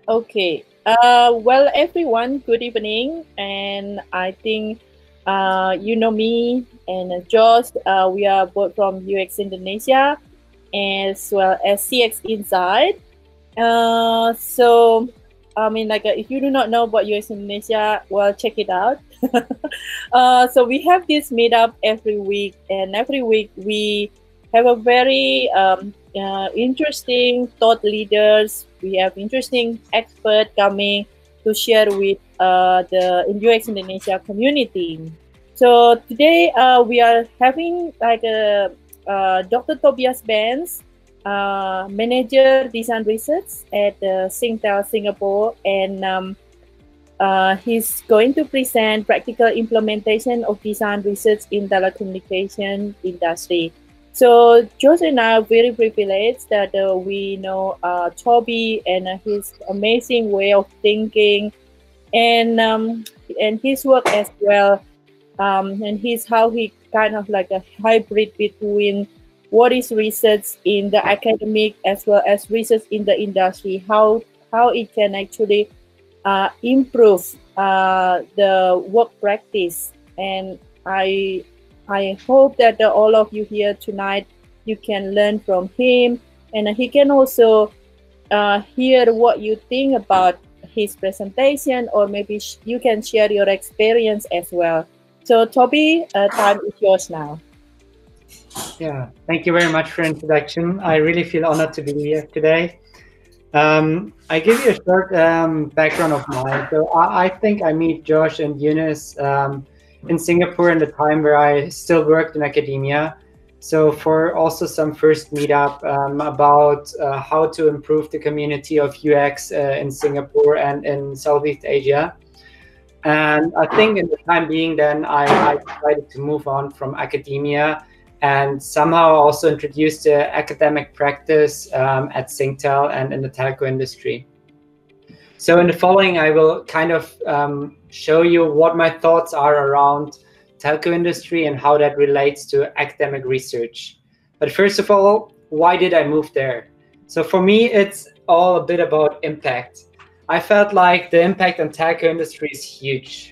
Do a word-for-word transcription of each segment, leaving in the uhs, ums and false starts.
Okay. Uh, well, everyone, good evening. And I think uh, you know me and uh, Josh. Uh, we are both from U X Indonesia as well as C X Inside. Uh, so, I mean, like, uh, if you do not know about U X Indonesia, well, check it out. uh, so we have this meetup every week, and every week we have a very um, uh, interesting thought leaders. We have interesting experts coming to share with uh, the U X Indonesia community. So today uh, we are having like a uh, Doctor Tobias Benz, uh, manager design research at uh, Singtel Singapore, and um, uh, he's going to present practical implementation of design research in telecommunication industry. So Josh and I are very privileged that uh, we know uh, Toby and uh, his amazing way of thinking, and um, and his work as well, um, and he's how he kind of like a hybrid between what is research in the academic as well as research in the industry, how how it can actually uh, improve uh, the work practice. And I I hope that uh, all of you here tonight you can learn from him, and he can also uh, hear what you think about his presentation, or maybe sh- you can share your experience as well. So Toby, uh, time is yours now. Yeah, thank you very much for introduction. I really feel honored to be here today. Um, I give you a short um, background of mine. So I, I think I meet Josh and Eunice um, in Singapore in the time where I still worked in academia. So for also some first meetup um, about uh, how to improve the community of U X uh, in Singapore and in Southeast Asia. And I think in the time being, then I, I decided to move on from academia and somehow also introduced the academic practice um, at Singtel and in the telco industry. So in the following, I will kind of um, show you what my thoughts are around telco industry and how that relates to academic research. But first of all, why did I move there? So for me, it's all a bit about impact. I felt like the impact on telco industry is huge.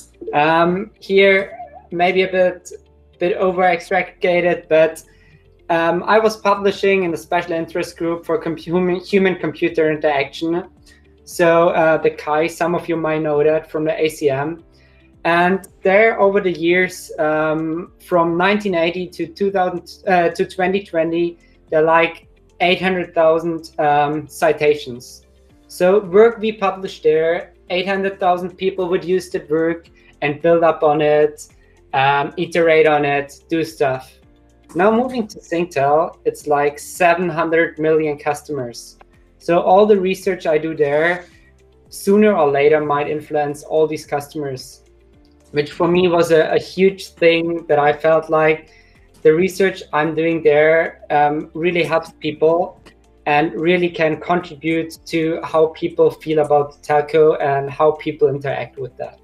Um, here, maybe a bit, bit over extracted, but um, I was publishing in the special interest group for com human computer interaction. So uh, the C A I, some of you might know that from the A C M. And there, over the years, um, from nineteen eighty to two thousand uh, to twenty twenty, there are like eight hundred thousand um, citations. So work we published there, eight hundred thousand people would use that work and build up on it, um, iterate on it, do stuff. Now moving to Singtel, it's like seven hundred million customers. So all the research I do there, sooner or later might influence all these customers, which for me was a, a huge thing that I felt like the research I'm doing there um, really helps people and really can contribute to how people feel about telco and how people interact with that.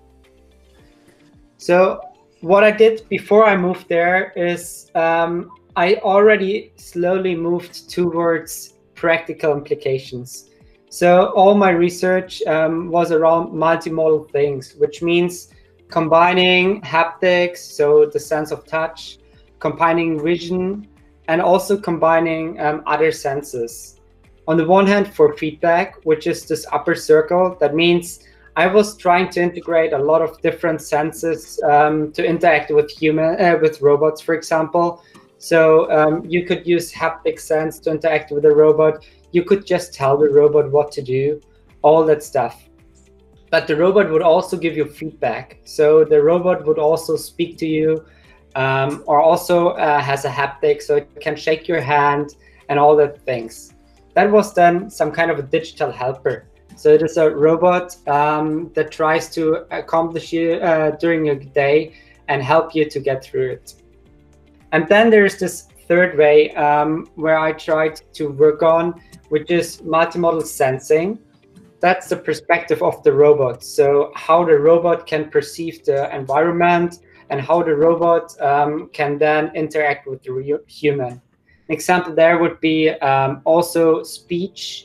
So what I did before I moved there is um, I already slowly moved towards practical implications. So all my research um, was around multimodal things, which means combining haptics, so the sense of touch, combining vision, and also combining um, other senses. On the one hand, for feedback, which is this upper circle, that means I was trying to integrate a lot of different senses um, to interact with human, uh, with robots, for example. So um, you could use haptic sense to interact with a robot. You could just tell the robot what to do, all that stuff. But the robot would also give you feedback. So the robot would also speak to you, um, or also uh, has a haptic, so it can shake your hand and all that things. That was then some kind of a digital helper. So it is a robot um, that tries to accomplish you uh, during your day and help you to get through it. And then there's this third way um, where I tried to work on, which is multimodal sensing. That's the perspective of the robot. So how the robot can perceive the environment and how the robot um, can then interact with the human. An example there would be um, also speech.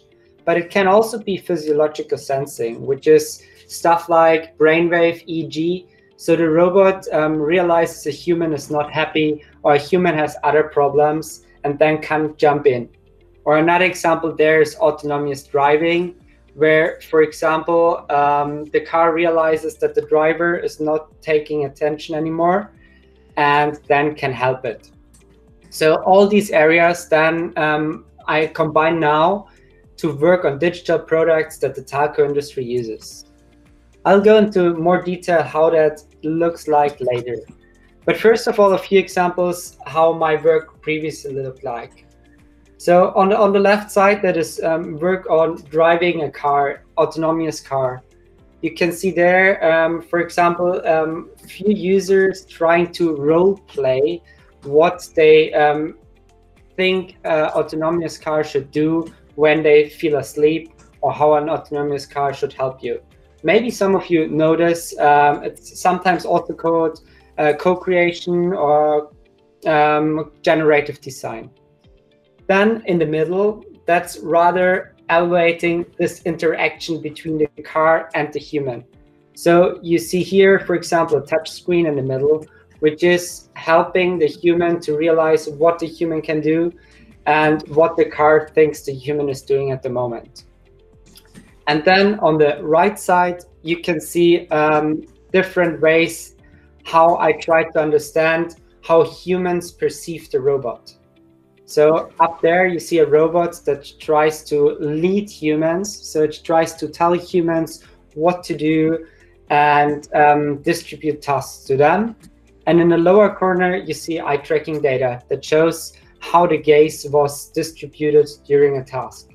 but it can also be physiological sensing, which is stuff like brainwave E E G. So the robot um, realizes a human is not happy or a human has other problems and then can jump in. Or another example there is autonomous driving, where, for example, um, the car realizes that the driver is not taking attention anymore and then can help it. So all these areas then um, I combine now to work on digital products that the telco industry uses. I'll go into more detail how that looks like later. But first of all, a few examples how my work previously looked like. So on the, on the left side, that is um, work on driving a car, autonomous car. You can see there, um, for example, um, few users trying to role play what they um, think uh, autonomous car should do when they feel asleep, or how an autonomous car should help you. Maybe some of you notice um, it's sometimes also called uh, co-creation or um, generative design. Then in the middle, that's rather evaluating this interaction between the car and the human. So you see here, for example, a touch screen in the middle, which is helping the human to realize what the human can do and what the car thinks the human is doing at the moment. And then on the right side, you can see um, different ways how I try to understand how humans perceive the robot. So up there, you see a robot that tries to lead humans. So it tries to tell humans what to do and um, distribute tasks to them. And in the lower corner, you see eye tracking data that shows how the gaze was distributed during a task.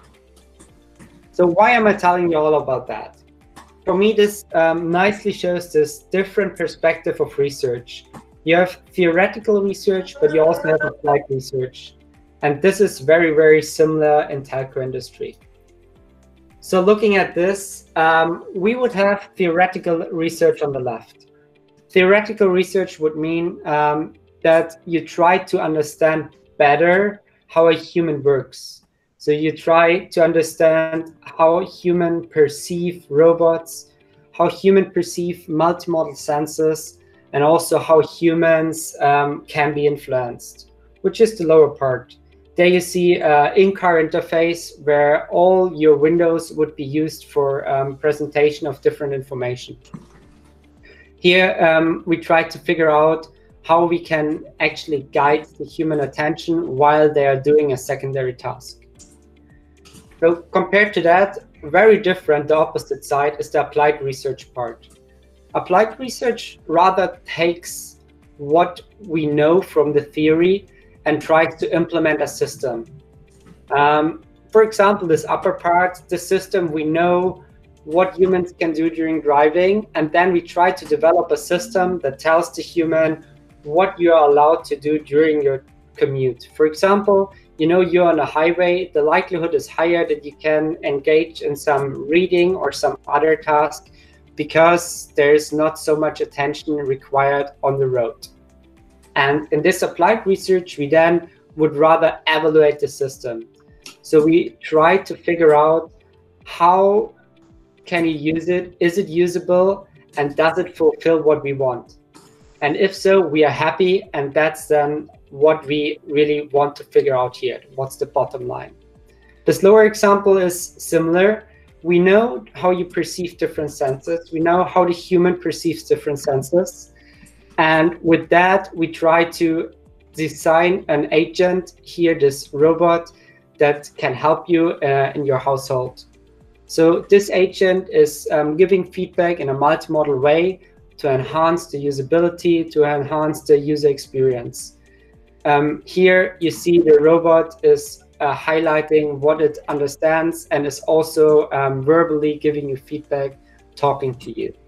So why am I telling you all about that? For me, this um, nicely shows this different perspective of research. You have theoretical research, but you also have applied research. And this is very, very similar in telco industry. So looking at this, um, we would have theoretical research on the left. Theoretical research would mean um, that you try to understand better how a human works. So you try to understand how humans perceive robots, how humans perceive multimodal senses, and also how humans um, can be influenced, which is the lower part. There you see an in-car interface where all your windows would be used for um, presentation of different information. Here um, we try to figure out how we can actually guide the human attention while they are doing a secondary task. So compared to that, very different, the opposite side is the applied research part. Applied research rather takes what we know from the theory and tries to implement a system. Um, for example, this upper part, the system, we know what humans can do during driving, and then we try to develop a system that tells the human what you are allowed to do during your commute. For example, you know you're on a highway, the likelihood is higher that you can engage in some reading or some other task because there's not so much attention required on the road. And in this applied research, we then would rather evaluate the system. So we try to figure out how can you use it, is it usable, and does it fulfill what we want? And if so, we are happy, and that's then what we really want to figure out here. What's the bottom line? This lower example is similar. We know how you perceive different senses. We know how the human perceives different senses. And with that, we try to design an agent here, this robot that can help you uh, in your household. So this agent is um, giving feedback in a multimodal way to enhance the usability, to enhance the user experience. Um, here you see the robot is uh, highlighting what it understands and is also um, verbally giving you feedback, talking to you.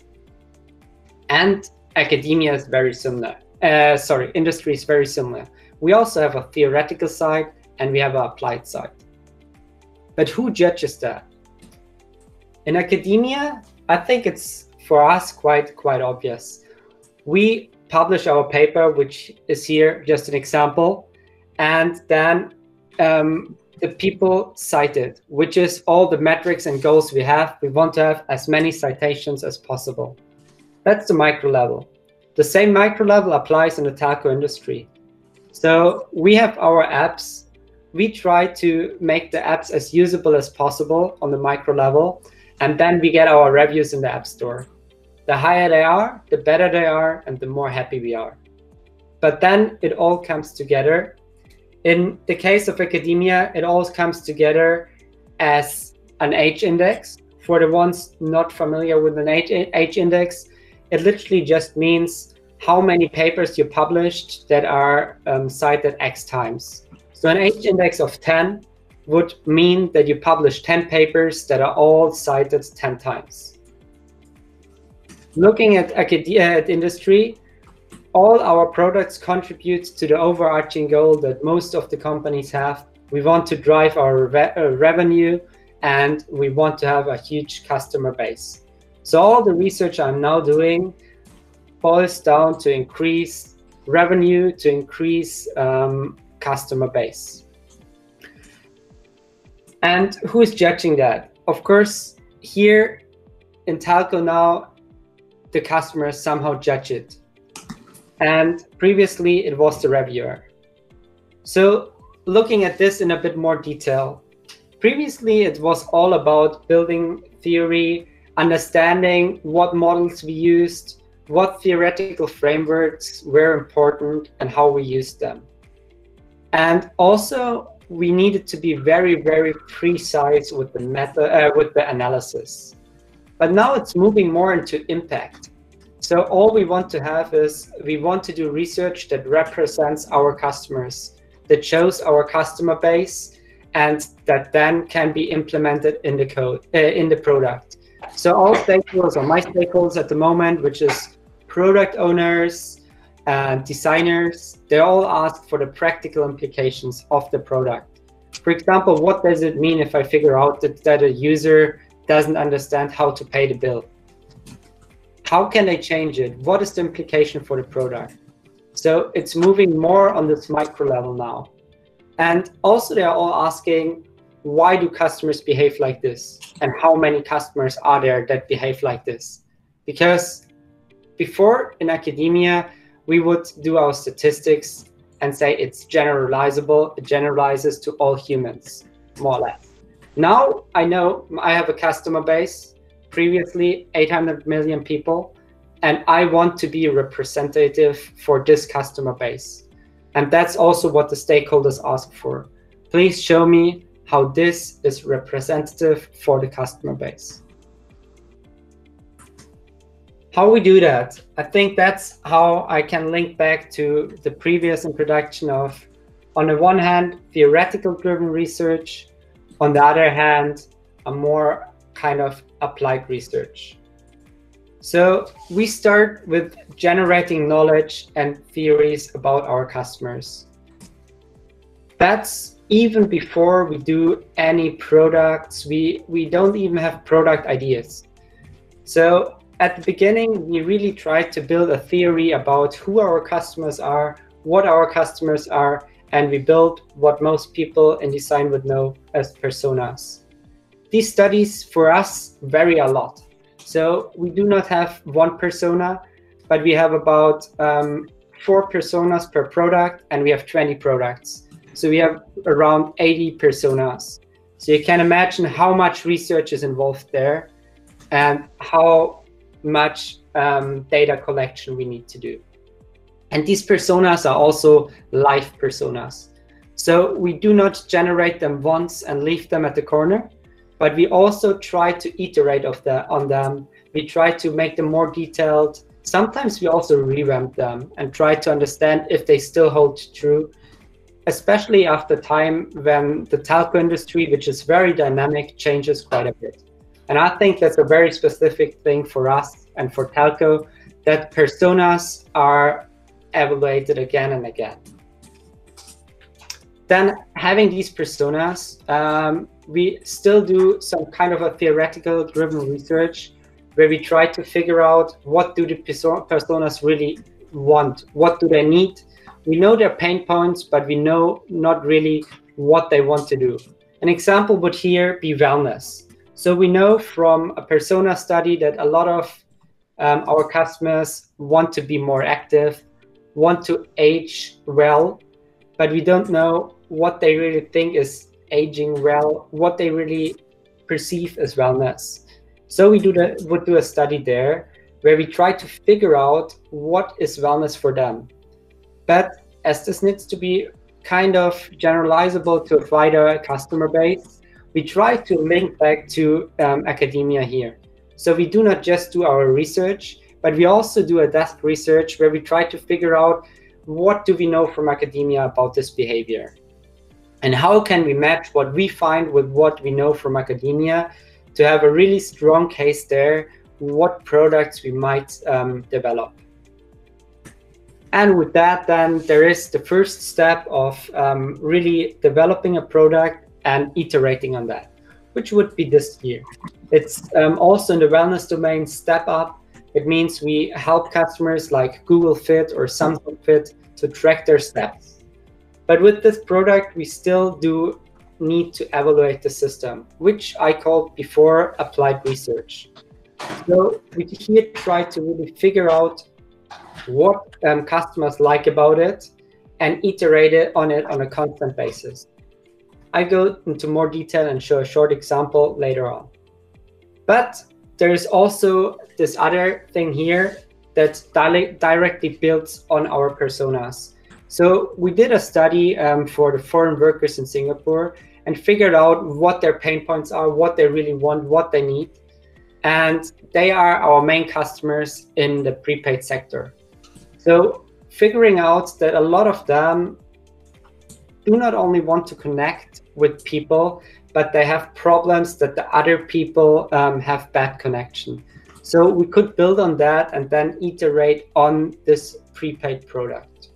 And academia is very similar. Uh, sorry, industry is very similar. We also have a theoretical side and we have an applied side. But who judges that? In academia, I think it's for us quite quite obvious. We publish our paper, which is here just an example, and then um, the people cited, which is all the metrics and goals we have. We want to have as many citations as possible. That's the micro level. The same micro level applies in the telco industry. So we have our apps. We try to make the apps as usable as possible on the micro level, and then we get our reviews in the App Store. The higher they are, the better they are, and the more happy we are. But then it all comes together. In the case of academia, it all comes together as an H index. For the ones not familiar with an H index, it literally just means how many papers you published that are um, cited X times. So an H index of ten would mean that you publish ten papers that are all cited ten times. Looking at academia, at industry, all our products contribute to the overarching goal that most of the companies have. We want to drive our re uh, revenue, and we want to have a huge customer base. So all the research I'm now doing boils down to increase revenue, to increase um, customer base. And who is judging that? Of course, here in telco now, the customers somehow judge it. And previously it was the reviewer. So looking at this in a bit more detail, previously it was all about building theory, understanding what models we used, what theoretical frameworks were important, and how we used them. And also we needed to be very, very precise with the method, uh, with the analysis. But now it's moving more into impact. So all we want to have is, we want to do research that represents our customers, that shows our customer base, and that then can be implemented in the code, uh, in the product. So all stakeholders, or my stakeholders at the moment, which is product owners and designers, they all ask for the practical implications of the product. For example, what does it mean if I figure out that, that a user doesn't understand how to pay the bill? How can they change it? What is the implication for the product? So it's moving more on this micro level now. And also they are all asking, why do customers behave like this? And how many customers are there that behave like this? Because before in academia, we would do our statistics and say it's generalizable, it generalizes to all humans, more or less. Now I know I have a customer base, previously eight hundred million people, and I want to be representative for this customer base. And that's also what the stakeholders ask for. Please show me how this is representative for the customer base. How we do that, I think that's how I can link back to the previous introduction of, on the one hand, theoretical driven research, on the other hand, a more kind of applied research. So we start with generating knowledge and theories about our customers. That's even before we do any products. We, we don't even have product ideas. So at the beginning, we really try to build a theory about who our customers are, what our customers are, and we build what most people in design would know as personas. These studies for us vary a lot. So we do not have one persona, but we have about um, four personas per product, and we have twenty products. So we have around eighty personas. So you can imagine how much research is involved there and how much um, data collection we need to do. And these personas are also live personas. So we do not generate them once and leave them at the corner, but we also try to iterate of the, on them. We try to make them more detailed. Sometimes we also revamp them and try to understand if they still hold true, especially after time when the telco industry, which is very dynamic, changes quite a bit. And I think that's a very specific thing for us and for telco, that personas are evaluated again and again. Then having these personas, um, we still do some kind of a theoretical driven research where we try to figure out what do the personas really want, what do they need. We know their pain points, but we know not really what they want to do. An example would here be wellness. So we know from a persona study that a lot of um, our customers want to be more active, want to age well, but we don't know what they really think is aging well, what they really perceive as wellness. So we do the, would do a study there where we try to figure out what is wellness for them. But as this needs to be kind of generalizable to a wider customer base, we try to link back to um, academia here. So we do not just do our research, but we also do a desk research where we try to figure out what do we know from academia about this behavior, and how can we match what we find with what we know from academia to have a really strong case there, what products we might um, develop. And with that, then there is the first step of um, really developing a product and iterating on that, which would be this year. It's um, also in the wellness domain step up. It means we help customers like Google Fit or Samsung Fit to track their steps. But with this product, we still do need to evaluate the system, which I called before applied research. So we here try to really figure out what um, customers like about it and iterate it on it on a constant basis. I go into more detail and show a short example later on. But there's also this other thing here that directly builds on our personas. So we did a study um, for the foreign workers in Singapore and figured out what their pain points are, what they really want, what they need. And they are our main customers in the prepaid sector. So figuring out that a lot of them do not only want to connect with people, but they have problems that the other people um, have bad connection. So we could build on that and then iterate on this prepaid product.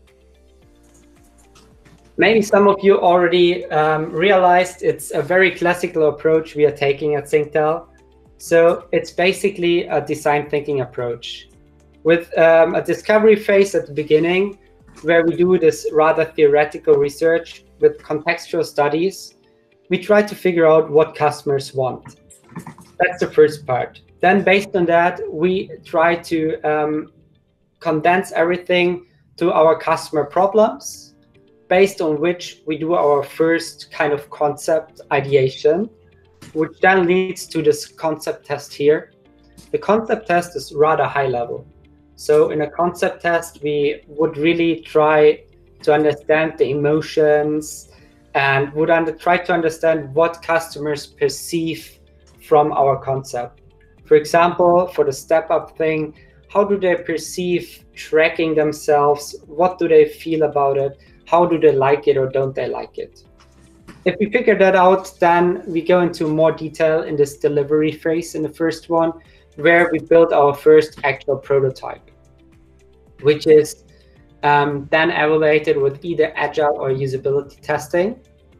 Maybe some of you already um, realized it's a very classical approach we are taking at Singtel. So it's basically a design thinking approach with um, a discovery phase at the beginning, where we do this rather theoretical research with contextual studies. We try to figure out what customers want. That's the first part. Then based on that, we try to um, condense everything to our customer problems, based on which we do our first kind of concept ideation, which then leads to this concept test here. The concept test is rather high level. So in a concept test, we would really try to understand the emotions and would under, try to understand what customers perceive from our concept. For example, for the step up thing, how do they perceive tracking themselves? What do they feel about it? How do they like it or don't they like it? If we figure that out, then we go into more detail in this delivery phase in the first one, where we build our first actual prototype, which is um, then evaluated with either agile or usability testing.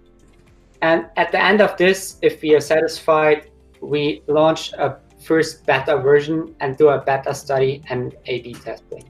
And at the end of this, if we are satisfied, we launch a first beta version and do a beta study and A B testing.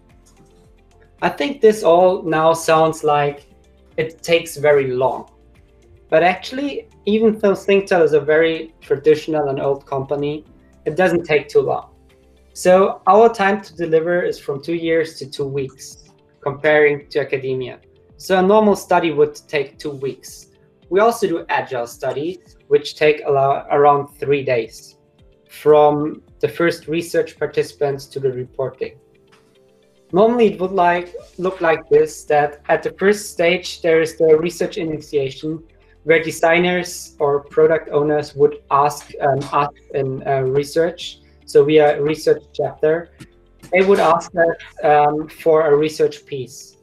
I think this all now sounds like it takes very long. But actually, even though Singtel is a very traditional and old company, it doesn't take too long. So our time to deliver is from two years to two weeks, comparing to academia. So a normal study would take two weeks. We also do agile studies, which take around three days, from the first research participants to the reporting. Normally, it would like look like this, that at the first stage, there is the research initiation, where designers or product owners would ask um, us in uh, research. So we are a research chapter. They would ask us um, for a research piece.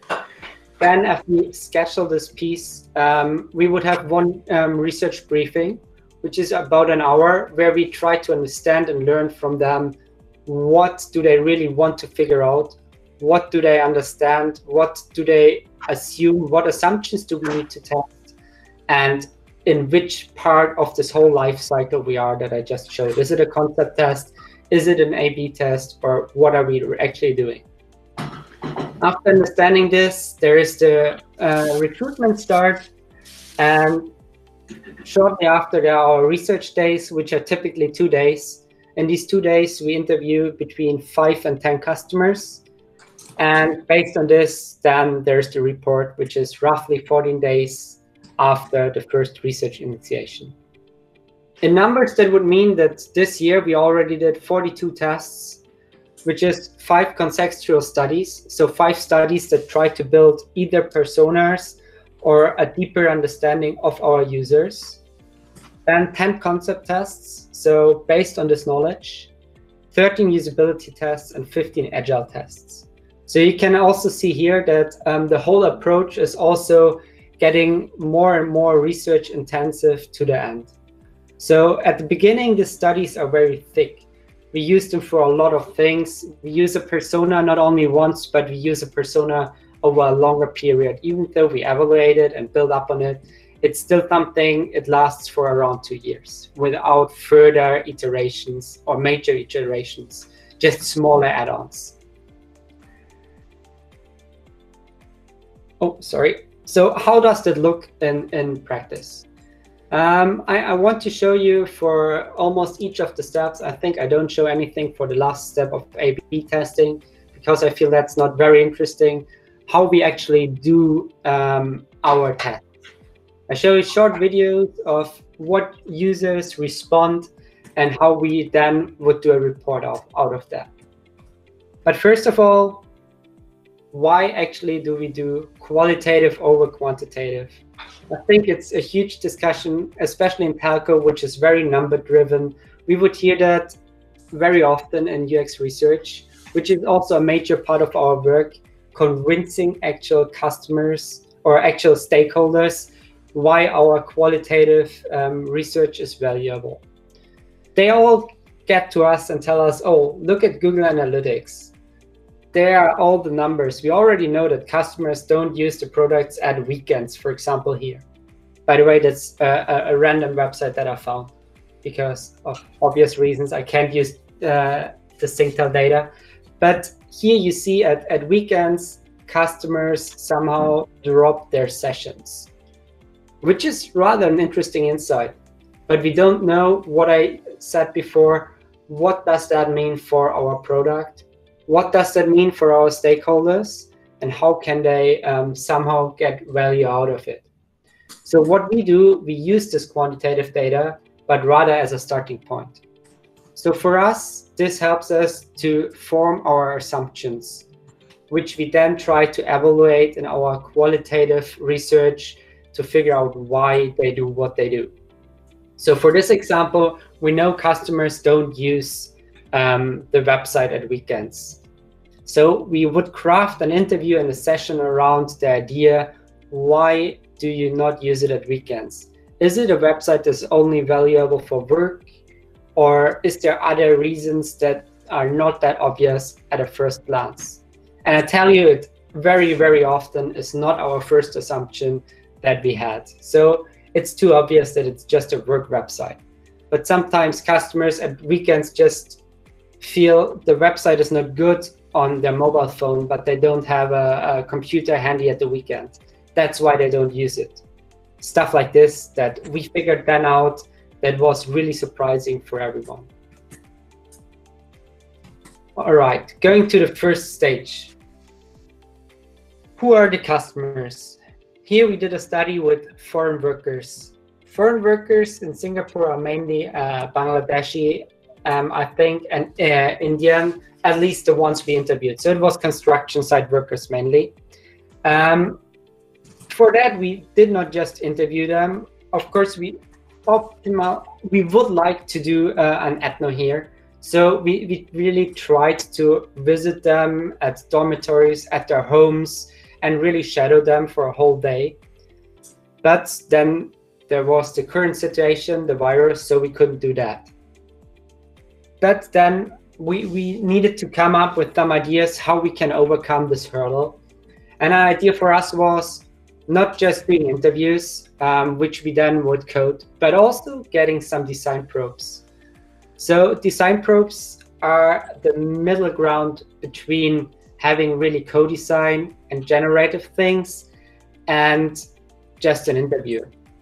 Then after we schedule this piece, um, we would have one um, research briefing, which is about an hour, where we try to understand and learn from them. What do they really want to figure out? What do they understand? What do they assume? What assumptions do we need to test? And in which part of this whole life cycle we are that I just showed. Is it a concept test? Is it an A B test? Or what are we actually doing? After understanding this, there is the uh, recruitment start. And shortly after, there are our research days, which are typically two days. In these two days, we interview between five and ten customers. And based on this, then there's the report, which is roughly fourteen days after the first research initiation. In numbers, that would mean that this year we already did forty-two tests, which is five contextual studies. So five studies that try to build either personas or a deeper understanding of our users. Then ten concept tests. So based on this knowledge, thirteen usability tests and fifteen agile tests. So you can also see here that um, the whole approach is also getting more and more research intensive to the end. So at the beginning, the studies are very thick. We use them for a lot of things. We use a persona not only once, but we use a persona over a longer period. Even though we evaluate it and build up on it, it's still something, it lasts for around two years without further iterations or major iterations, just smaller add-ons. Oh, sorry. So how does that look in, in practice? Um, I, I want to show you for almost each of the steps. I think I don't show anything for the last step of A B testing because I feel that's not very interesting, how we actually do um, our tests. I show you short videos of what users respond and how we then would do a report of, out of that. But first of all, why actually do we do qualitative over quantitative? I think it's a huge discussion, especially in telco, which is very number driven. We would hear that very often in U X research, which is also a major part of our work, convincing actual customers or actual stakeholders why our qualitative um, research is valuable. They all get to us and tell us, oh, look at Google Analytics. There are all the numbers. We already know that customers don't use the products at weekends, for example, here. By the way, that's a, a random website that I found because of obvious reasons. I can't use uh, the Singtel data. But here you see at, at weekends, customers somehow drop their sessions, which is rather an interesting insight. But we don't know what I said before. What does that mean for our product? What does that mean for our stakeholders? And how can they um, somehow get value out of it? So what we do, we use this quantitative data, but rather as a starting point. So for us, this helps us to form our assumptions, which we then try to evaluate in our qualitative research to figure out why they do what they do. So for this example, we know customers don't use um, the website at weekends. So we would craft an interview and a session around the idea, why do you not use it at weekends? Is it a website that's only valuable for work? Or is there other reasons that are not that obvious at a first glance? And I tell you, it very, very often is not our first assumption that we had. So it's too obvious that it's just a work website. But sometimes customers at weekends just feel the website is not good on their mobile phone, but they don't have a, a computer handy at the weekend. That's why they don't use it. Stuff like this that we figured then out that was really surprising for everyone. All right, going to the first stage. Who are the customers? Here we did a study with foreign workers. Foreign workers in Singapore are mainly uh, Bangladeshi, um, I think, and uh, Indian, at least the ones we interviewed. So it was construction site workers mainly. Um, for that, we did not just interview them. Of course, we optimal. We would like to do uh, an ethno here. So we, we really tried to visit them at dormitories, at their homes, and really shadow them for a whole day. But then there was the current situation, the virus, so we couldn't do that. But then we, we needed to come up with some ideas how we can overcome this hurdle. And an idea for us was not just doing interviews, um, which we then would code, but also getting some design probes. So design probes are the middle ground between having really co-design and generative things and just an interview.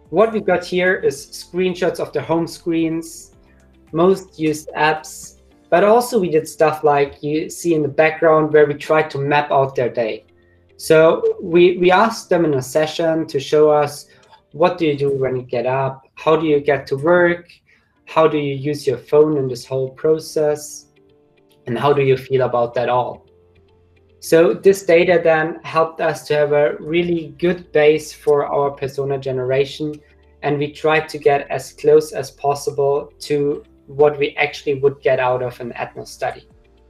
what we got here is screenshots of the home screens, most used apps, but also we did stuff like you see in the background where we tried to map out their day. So we, we asked them in a session to show us, what do you do when you get up? How do you get to work? How do you use your phone in this whole process? And how do you feel about that all? So this data then helped us to have a really good base for our persona generation. And we tried to get as close as possible to what we actually would get out of an ethno study.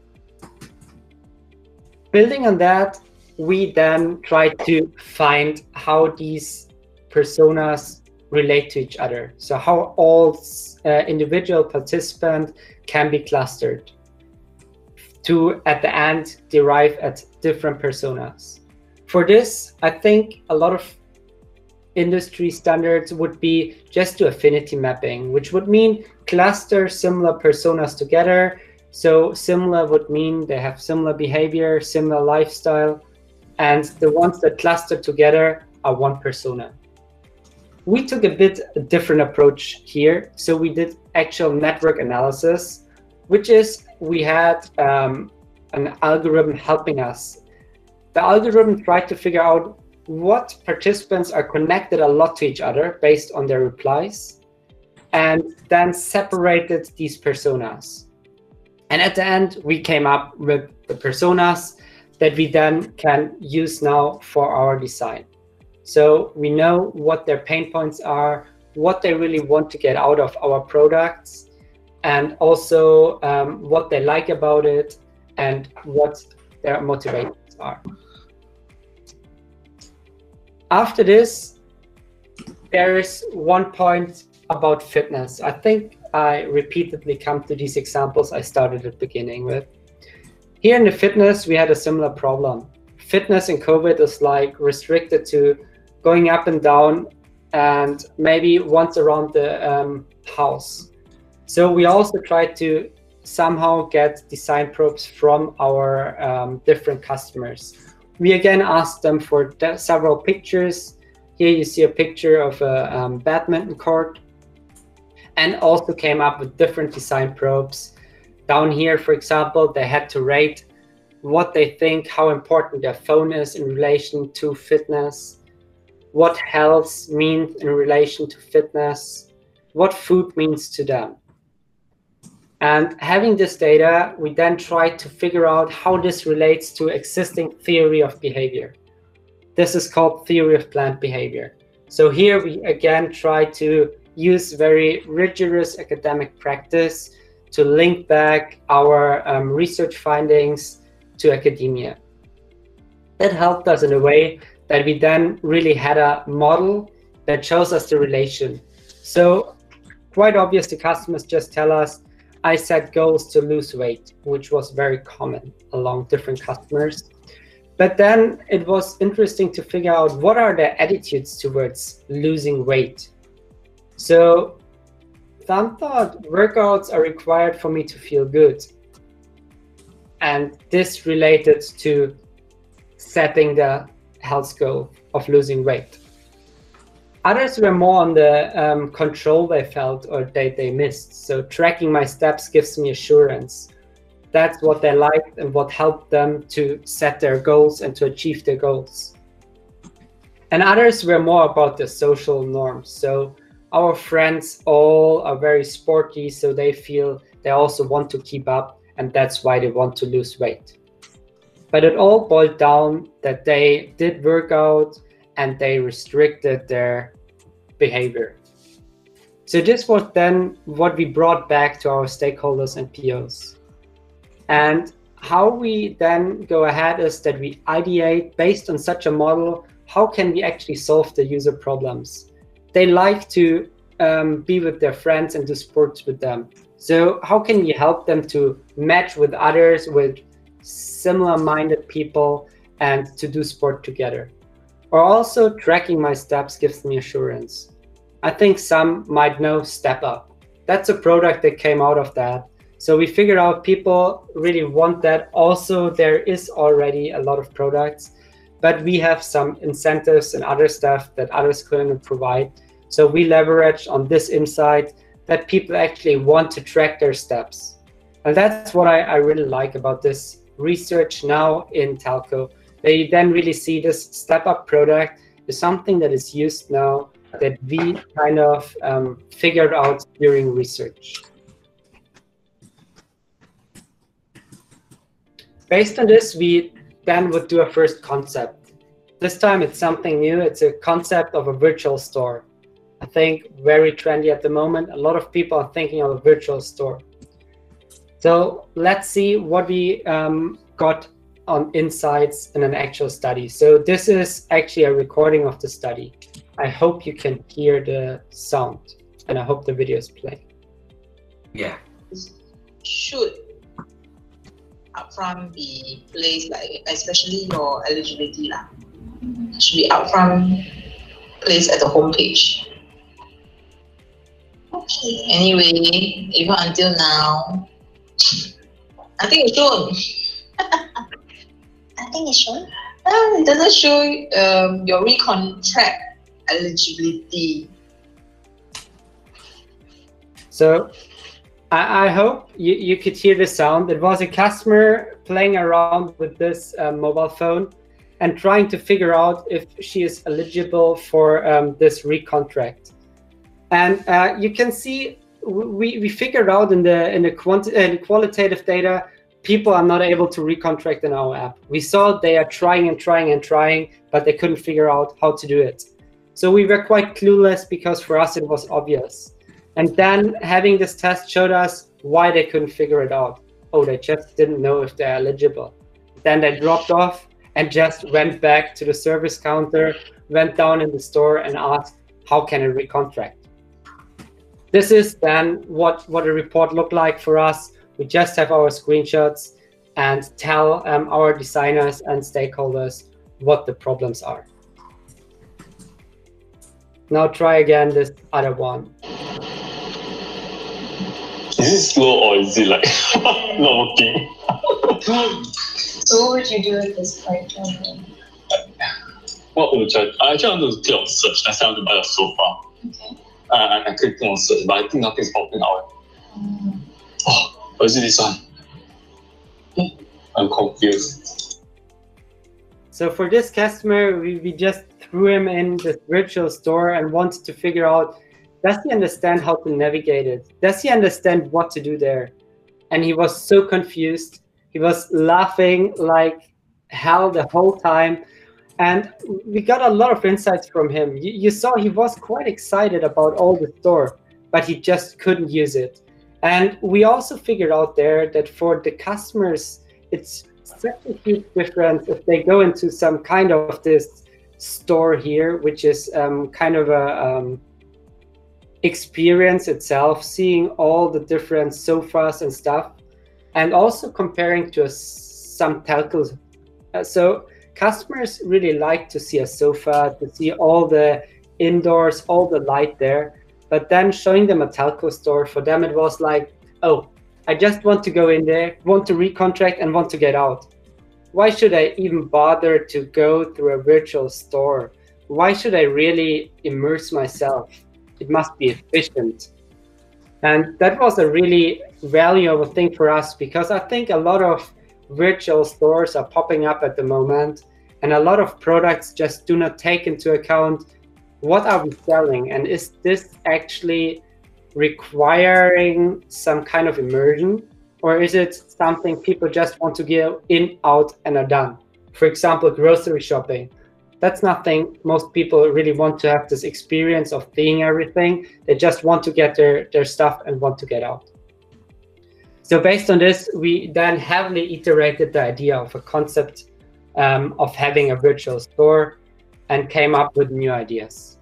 Building on that, we then tried to find how these personas relate to each other. So how all uh, individual participants can be clustered to, at the end, derive at different personas. For this, I think a lot of industry standards would be just do affinity mapping, which would mean cluster similar personas together. So similar would mean they have similar behavior, similar lifestyle, and the ones that cluster together are one persona. We took a bit a different approach here. So we did actual network analysis, which is we had um, an algorithm helping us. The algorithm tried to figure out what participants are connected a lot to each other based on their replies, and then separated these personas. And at the end, we came up with the personas that we then can use now for our design. So we know what their pain points are, what they really want to get out of our products, and also um, what they like about it and what their motivations are. After this, there is one point about fitness. I think I repeatedly come to these examples I started at the beginning with. Here in the fitness, we had a similar problem. Fitness in COVID is like restricted to going up and down and maybe once around the um, house. So we also tried to somehow get design probes from our um, different customers. We again asked them for several pictures. Here you see a picture of a um, badminton court, and also came up with different design probes. Down here, for example, they had to rate what they think, how important their phone is in relation to fitness, what health means in relation to fitness, what food means to them. And having this data, we then tried to figure out how this relates to existing theory of behavior. This is called theory of planned behavior. So here we again try to use very rigorous academic practice to link back our um, research findings to academia. That helped us in a way that we then really had a model that shows us the relation. So quite obvious, the customers just tell us, I set goals to lose weight, which was very common along different customers. But then it was interesting to figure out what are their attitudes towards losing weight. So some thought workouts are required for me to feel good. And this related to setting the health goal of losing weight. Others were more on the um, control they felt or they, they missed. So tracking my steps gives me assurance. That's what they liked and what helped them to set their goals and to achieve their goals. And others were more about the social norms. So our friends all are very sporty, so they feel they also want to keep up, and that's why they want to lose weight. But it all boiled down that they did work out and they restricted their behavior. So this was then what we brought back to our stakeholders and P Os. And how we then go ahead is that we ideate based on such a model, how can we actually solve the user problems? They like to um, be with their friends and do sports with them. So how can we help them to match with others, with similar-minded people, and to do sport together? Or also tracking my steps gives me assurance. I think some might know Step Up. That's a product that came out of that. So we figured out people really want that. Also, there is already a lot of products, but we have some incentives and other stuff that others couldn't provide. So we leverage on this insight that people actually want to track their steps. And that's what I, I really like about this research now in telco. They then really see this step-up product is something that is used now that we kind of um, figured out during research. Based on this, we then would do a first concept. This time it's something new. It's a concept of a virtual store. I think very trendy at the moment. A lot of people are thinking of a virtual store. So let's see what we um, got on insights in an actual study. So this is actually a recording of the study. I hope you can hear the sound, and I hope the video is playing. Yeah. Should upfront be placed, like especially your eligibility lah, should be upfront placed at the home page. Okay. Anyway, even until now, I think it's shown. I think it's shown. Uh, it doesn't show um, your recontract eligibility. So I, I hope you, you could hear the sound. It was a customer playing around with this uh, mobile phone and trying to figure out if she is eligible for um, this recontract. And uh, you can see we, we figured out in the in the quanti uh, qualitative data, people are not able to recontract in our app. We saw they are trying and trying and trying, but they couldn't figure out how to do it. So we were quite clueless because for us it was obvious. And then having this test showed us why they couldn't figure it out. Oh, they just didn't know if they're eligible. Then they dropped off and just went back to the service counter, went down in the store and asked, how can I recontract? This is then what, what a report looked like for us. We just have our screenshots and tell um, our designers and stakeholders what the problems are. Now try again this other one. Is it slow or is it like not working? So what would you do at this point? What would I? I actually want to click on search. I want to buy a sofa. Okay. Uh, and I clicked on search, but I think nothing's popping out. Mm. Oh, or is it this one? I'm confused. So for this customer, we, we just threw him in this virtual store and wanted to figure out, does he understand how to navigate it? Does he understand what to do there? And he was so confused. He was laughing like hell the whole time. And we got a lot of insights from him. You, you saw he was quite excited about all the store, but he just couldn't use it. And we also figured out there that for the customers, it's such a huge difference if they go into some kind of this store here, which is um, kind of a um, experience itself, seeing all the different sofas and stuff, and also comparing to a, some telcos. Uh, so customers really like to see a sofa, to see all the indoors, all the light there. But then showing them a telco store, for them it was like, oh, I just want to go in there, want to recontract and want to get out. Why should I even bother to go through a virtual store? Why should I really immerse myself? It must be efficient. And that was a really valuable thing for us, because I think a lot of virtual stores are popping up at the moment, and a lot of products just do not take into account what are we selling, and is this actually requiring some kind of immersion, or is it something people just want to get in, out, and are done? For example, grocery shopping. That's nothing most people really want to have this experience of seeing everything. They just want to get their, their stuff and want to get out. So based on this, we then heavily iterated the idea of a concept um, of having a virtual store and came up with new ideas.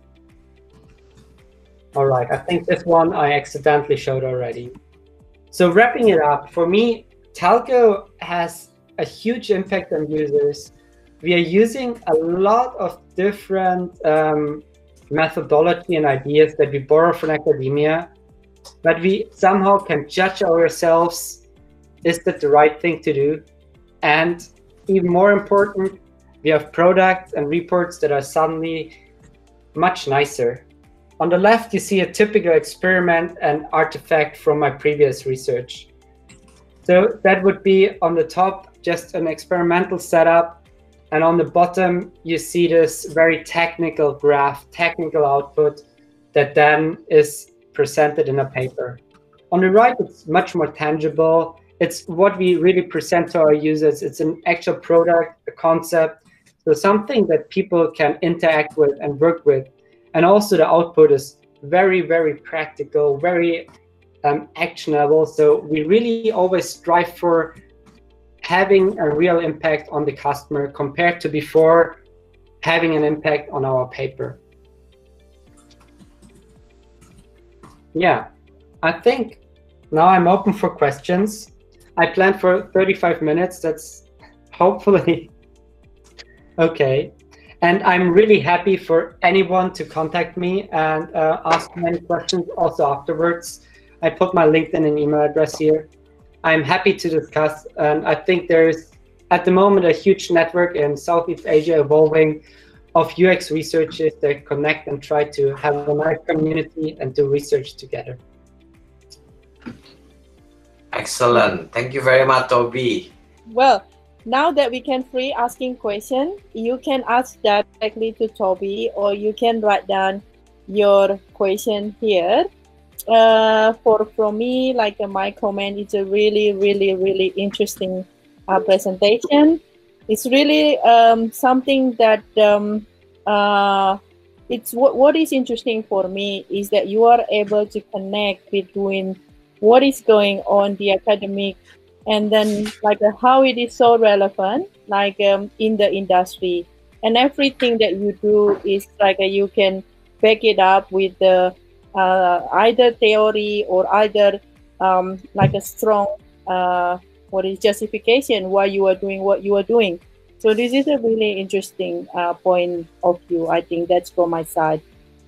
All right, I think this one I accidentally showed already. So wrapping it up, for me, telco has a huge impact on users. We are using a lot of different um, methodology and ideas that we borrow from academia, but we somehow can judge ourselves, is that the right thing to do? And even more important, we have products and reports that are suddenly much nicer. On the left, you see a typical experiment and artifact from my previous research. So that would be on the top, just an experimental setup. And on the bottom, you see this very technical graph, technical output that then is presented in a paper. On the right, it's much more tangible. It's what we really present to our users. It's an actual product, a concept, so something that people can interact with and work with. And also the output is very, very practical, very um, actionable. So we really always strive for having a real impact on the customer compared to before having an impact on our paper. Yeah, I think now I'm open for questions. I planned for thirty-five minutes. That's hopefully okay. And I'm really happy for anyone to contact me and uh, ask many questions also afterwards. I put my LinkedIn and email address here. I'm happy to discuss, and I think there's at the moment a huge network in Southeast Asia evolving of U X researchers that connect and try to have a nice community and do research together. Excellent. Thank you very much, Toby. Well, now that we can free asking questions, you can ask directly to Toby, or you can write down your question here. Uh, for from me, like uh, my comment, it's a really, really, really interesting uh, presentation. It's really um, something that um, uh, it's what what is interesting for me is that you are able to connect between what is going on the academic and then like uh, how it is so relevant like um, in the industry, and everything that you do is like uh, you can back it up with the uh, either theory or either um, like a strong uh, what is justification why you are doing what you are doing. So this is a really interesting uh, point of view. I think that's from my side.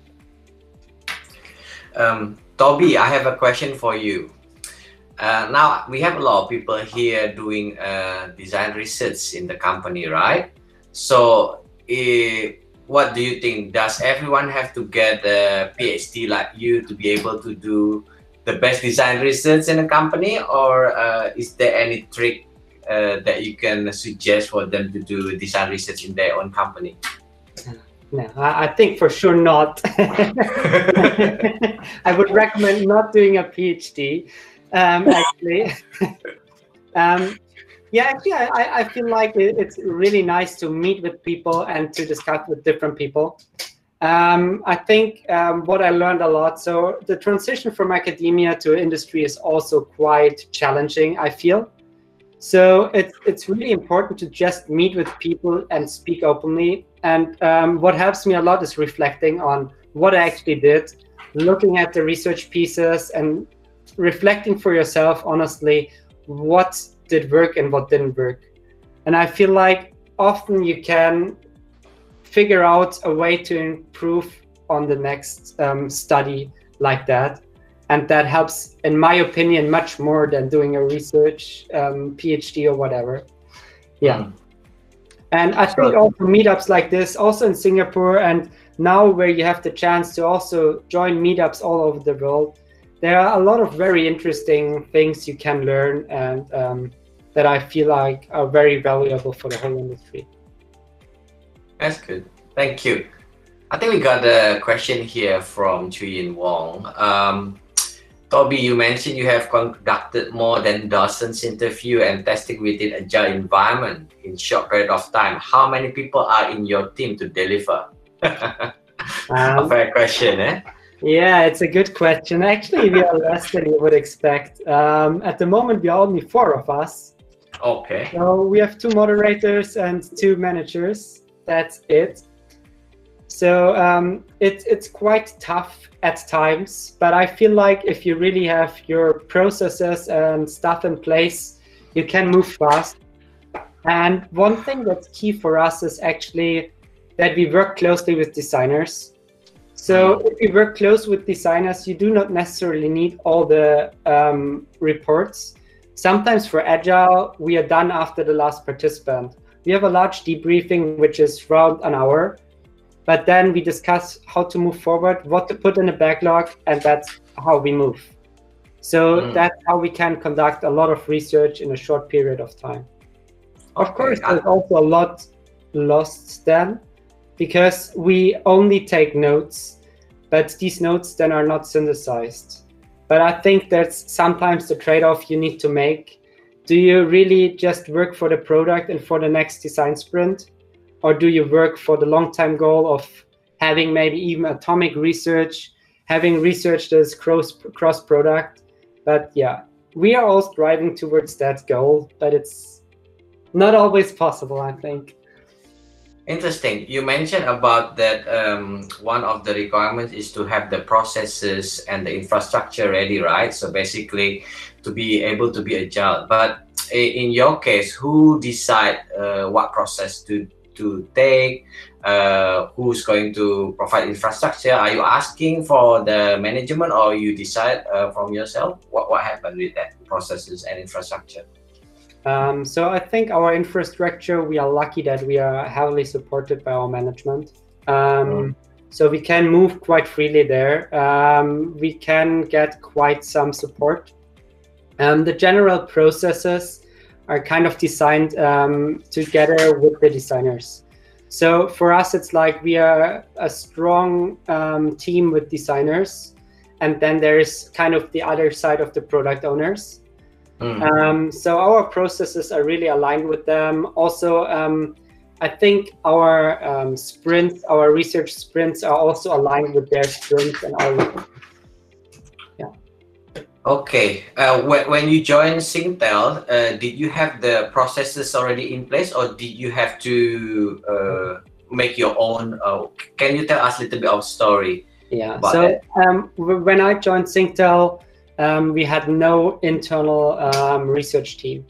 Um, Toby, I have a question for you. Uh, now, we have a lot of people here doing uh, design research in the company, right? So, uh, what do you think? Does everyone have to get a PhD like you to be able to do the best design research in a company? Or uh, is there any trick uh, that you can suggest for them to do design research in their own company? No, I, I think for sure not. I would recommend not doing a PhD, um, actually. um, yeah, actually, I, I feel like it, it's really nice to meet with people and to discuss with different people. Um, I think um, what I learned a lot, so the transition from academia to industry is also quite challenging, I feel. So it's, it's really important to just meet with people and speak openly. And um, what helps me a lot is reflecting on what I actually did, looking at the research pieces and reflecting for yourself, honestly, what did work and what didn't work. And I feel like often you can figure out a way to improve on the next um, study like that. And that helps, in my opinion, much more than doing a research um, PhD or whatever. Yeah. Mm. And I think also meetups like this, also in Singapore, and now where you have the chance to also join meetups all over the world, there are a lot of very interesting things you can learn and um, that I feel like are very valuable for the whole industry. That's good. Thank you. I think we got a question here from Chuyin Wong. Um, Toby, you mentioned you have conducted more than dozens interview and testing within agile environment in short period of time. How many people are in your team to deliver? um, a fair question, eh? Yeah, it's a good question. Actually, we are less than you would expect. Um, at the moment, we are only four of us. Okay. So we have two moderators and two managers. That's it. So um, it, it's quite tough at times, but I feel like if you really have your processes and stuff in place, you can move fast. And one thing that's key for us is actually that we work closely with designers. So if you work close with designers, you do not necessarily need all the um, reports. Sometimes for Agile, we are done after the last participant. We have a large debriefing, which is around an hour. but then we discuss how to move forward, what to put in the backlog, and that's how we move. So mm. that's how we can conduct a lot of research in a short period of time. Okay. Of course, there's also a lot lost then, because we only take notes, but these notes then are not synthesized. But I think that's sometimes the trade-off you need to make. Do you really just work for the product and for the next design sprint? Or do you work for the long-term goal of having maybe even atomic research, having research that is cross, cross-product? But yeah, we are all striving towards that goal, but it's not always possible, I think. Interesting. You mentioned about that um, one of the requirements is to have the processes and the infrastructure ready, right? So basically to be able to be agile. But in your case, who decide uh, what process to, to take? Uh, who's going to provide infrastructure? Are you asking for the management, or you decide uh, from yourself? What, what happened with that processes and infrastructure? Um, so I think our infrastructure, we are lucky that we are heavily supported by our management. Um, mm. So we can move quite freely there. Um, we can get quite some support. Um, the general processes are kind of designed um, together with the designers. So for us, it's like we are a strong um, team with designers, and then there's kind of the other side of the product owners. Mm. Um, so our processes are really aligned with them. Also, um, I think our um, sprints, our research sprints are also aligned with their sprints and our. Yeah. Okay. Uh, when, when you joined Singtel, uh, did you have the processes already in place, or did you have to uh, make your own? Uh, can you tell us a little bit of story? Yeah. So um, when I joined Singtel, Um, we had no internal um, research team.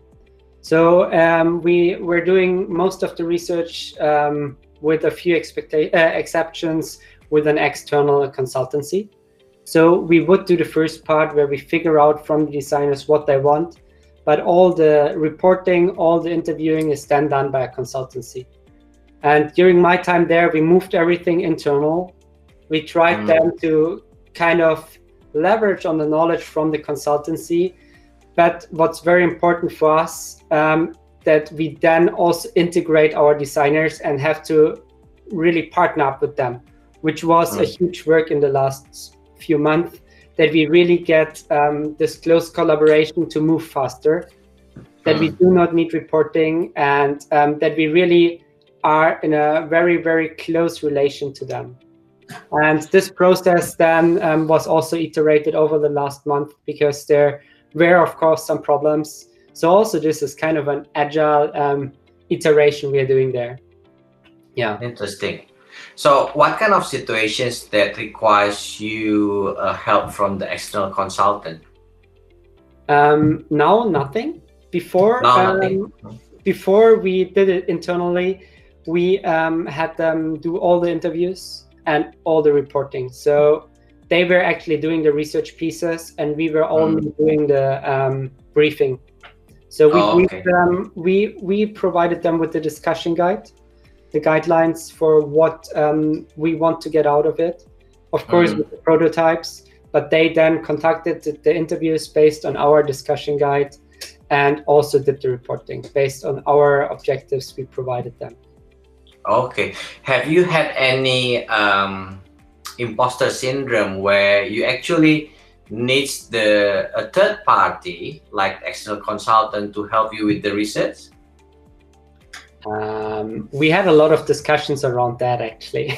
So um, we were doing most of the research um, with a few expecta- uh, exceptions with an external consultancy. So we would do the first part where we figure out from the designers what they want, but all the reporting, all the interviewing is then done by a consultancy. And during my time there, we moved everything internal. We tried mm. then to kind of leverage on the knowledge from the consultancy, but what's very important for us, um, that we then also integrate our designers and have to really partner up with them, which was mm. a huge work in the last few months, that we really get um, this close collaboration to move faster, that mm. we do not need reporting, and um, that we really are in a very, very close relation to them. And this process then um, was also iterated over the last month, because there were, of course, some problems. So also this is kind of an agile um, iteration we are doing there. Yeah. Interesting. So what kind of situations that requires you uh, help from the external consultant? Um, now, nothing. Before, no, um, nothing. Before we did it internally, we um, had them do all the interviews and all the reporting. So they were actually doing the research pieces, and we were only mm. doing the um, briefing. So we oh, okay. them, we we provided them with the discussion guide, the guidelines for what um, we want to get out of it, of course mm. with the prototypes. But they then conducted the, the interviews based on our discussion guide, and also did the reporting based on our objectives we provided them. Okay. Have you had any um, imposter syndrome where you actually need the a third party, like external consultant, to help you with the research? Um, we had a lot of discussions around that, actually.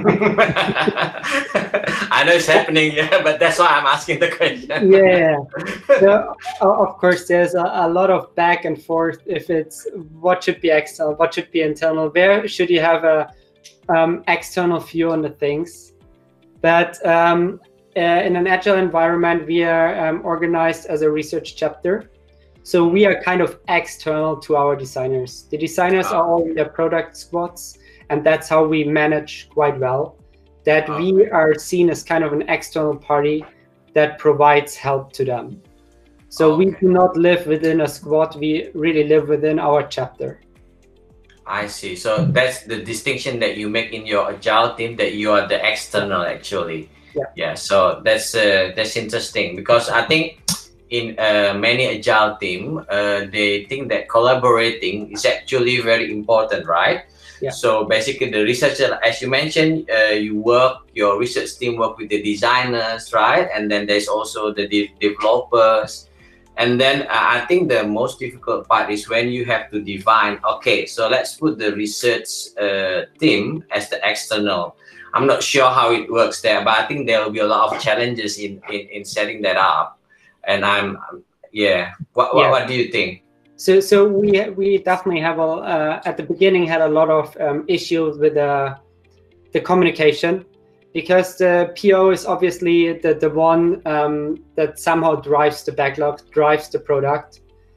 I know it's happening, yeah, but that's why I'm asking the question. Yeah. So, of course, there's a, a lot of back and forth. If it's what should be external, what should be internal, where should you have a um, external view on the things? But um, uh, in an agile environment, we are um, organized as a research chapter. So we are kind of external to our designers. The designers oh. are all in their product squads, and that's how we manage quite well. That oh. we are seen as kind of an external party that provides help to them. So okay. we do not live within a squad, we really live within our chapter. I see. So that's the distinction that you make in your agile team, that you are the external actually. Yeah. Yeah. So that's uh, that's interesting, because I think in uh, many agile team, uh, they think that collaborating is actually very important, right? Yeah. So basically, the researcher, as you mentioned, uh, you work, your research team work with the designers, right? And then there's also the de developers. And then uh, I think the most difficult part is when you have to define, okay, so let's put the research uh, team as the external. I'm not sure how it works there, but I think there will be a lot of challenges in, in, in setting that up. And I'm, yeah, what, what, Yeah. what do you think? So, so we we definitely have a uh, at the beginning had a lot of um, issues with the the communication, because the P O is obviously the the one um, that somehow drives the backlog, drives the product,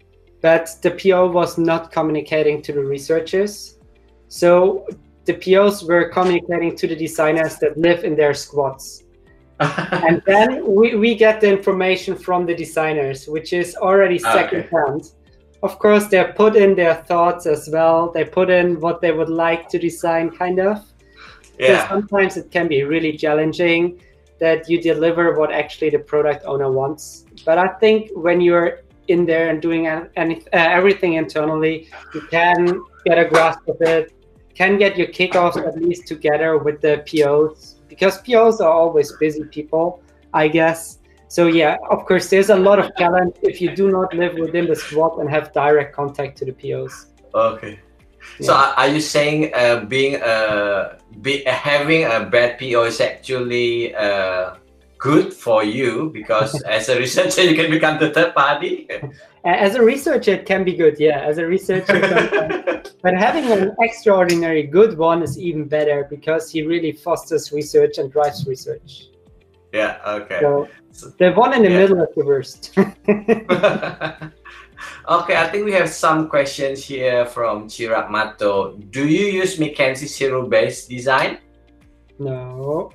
but the P O was not communicating to the researchers. So the P Os were communicating to the designers that live in their squads. And then we, we get the information from the designers, which is already second hand. Of course, they put in their thoughts as well. They put in what they would like to design, kind of. Yeah. So sometimes it can be really challenging that you deliver what actually the product owner wants. But I think when you're in there and doing any, uh, everything internally, you can get a grasp of it, can get your kickoffs at least together with the P Os, because P Os are always busy people, I guess. So yeah, of course, there's a lot of challenge if you do not live within the squad and have direct contact to the P Os. Okay. Yeah. So are are you saying uh, being uh, be, having a bad P O is actually uh, good for you, because as a researcher you can become the third party? As a researcher, it can be good, yeah. As a researcher, but having an extraordinary good one is even better, because he really fosters research and drives research. Yeah. Okay. So the one in the Yeah. middle is the worst. Okay, I think we have some questions here from Chirag Mato. Do you use McKinsey zero-based design? No.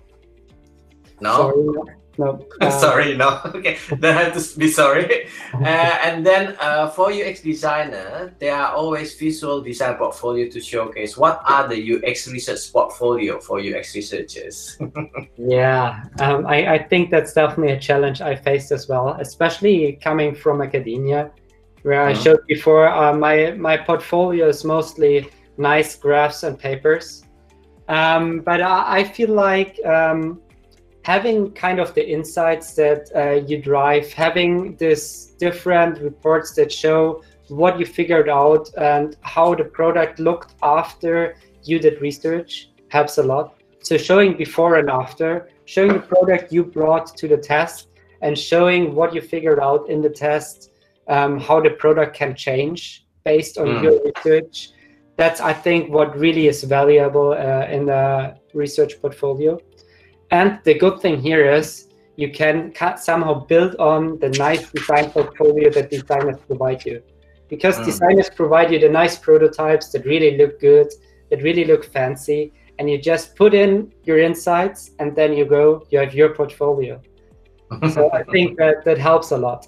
No? Sorry, no. no. Uh, Sorry, no. Okay, then I have to be sorry. Uh, and then uh, for U X designer, there are always visual design portfolio to showcase. What are the U X research portfolio for U X researchers? Yeah, um, I, I think that's definitely a challenge I faced as well, especially coming from academia, where I Mhm. showed before. Uh, my my portfolio is mostly nice graphs and papers, um, but I, I feel like um, having kind of the insights that uh, you drive, having this different reports that show what you figured out and how the product looked after you did research helps a lot. So showing before and after, showing the product you brought to the test, and showing what you figured out in the test, um, how the product can change based on Mm. your research. That's, I think, what really is valuable uh, in the research portfolio. And the good thing here is you can ca- somehow build on the nice design portfolio that designers provide you. Because Mm. designers provide you the nice prototypes that really look good, that really look fancy, and you just put in your insights, and then you go, you have your portfolio. So I think that that helps a lot.